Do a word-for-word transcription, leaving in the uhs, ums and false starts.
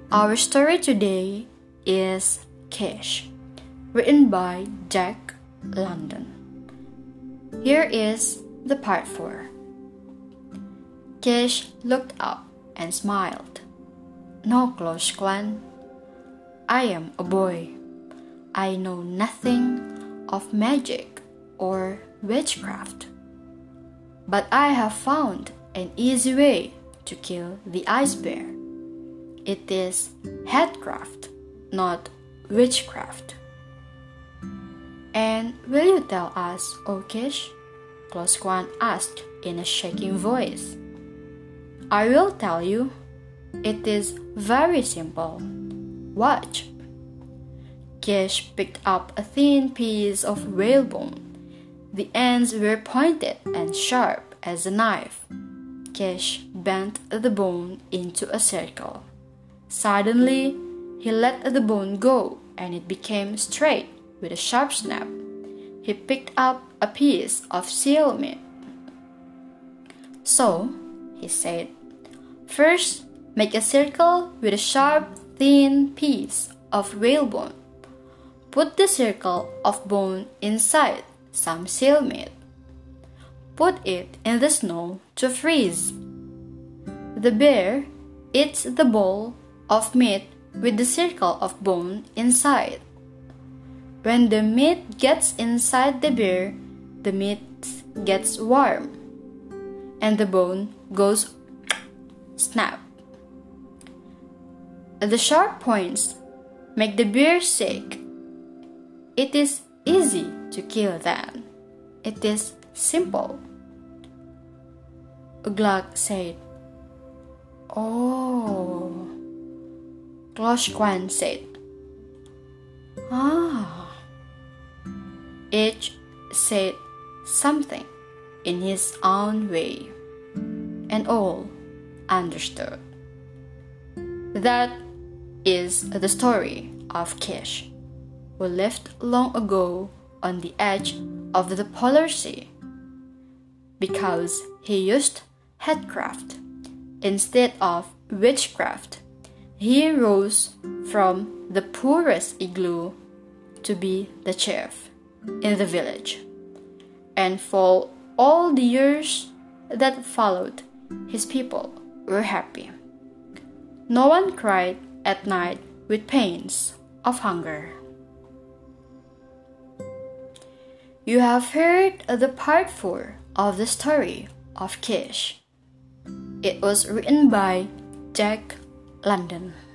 Our story today is Kish, written by Jack London. Here is the part four. Kish looked up and smiled. "No, Klosh Kwan. I am a boy. I know nothing of magic or witchcraft. But I have found an easy way to kill the ice bear. It is headcraft, not witchcraft." "And will you tell us, O Kish?" Klosh Kwan asked in a shaking voice. "I will tell you. It is very simple. Watch." Kish picked up a thin piece of whalebone. The ends were pointed and sharp as a knife. Kish bent the bone into a circle. Suddenly, he let the bone go and it became straight with a sharp snap. He picked up a piece of seal meat. "So," he said, "first make a circle with a sharp, thin piece of whalebone. Put the circle of bone inside some seal meat. Put it in the snow to freeze. The bear eats the ball of meat with the circle of bone inside. When the meat gets inside the bear, the meat gets warm, and the bone goes snap. The sharp points make the bear sick. It is easy to kill them. It is simple." Glug said, "Oh." Klosh Kwan said, "Ah." Each said something in his own way, and all understood. That is the story of Kish, who lived long ago on the edge of the polar sea. Because he used headcraft instead of witchcraft, he rose from the poorest igloo to be the chief in the village. And for all the years that followed, his people were happy. No one cried at night with pains of hunger. You have heard the part four of the story of Kish. It was written by Jack London.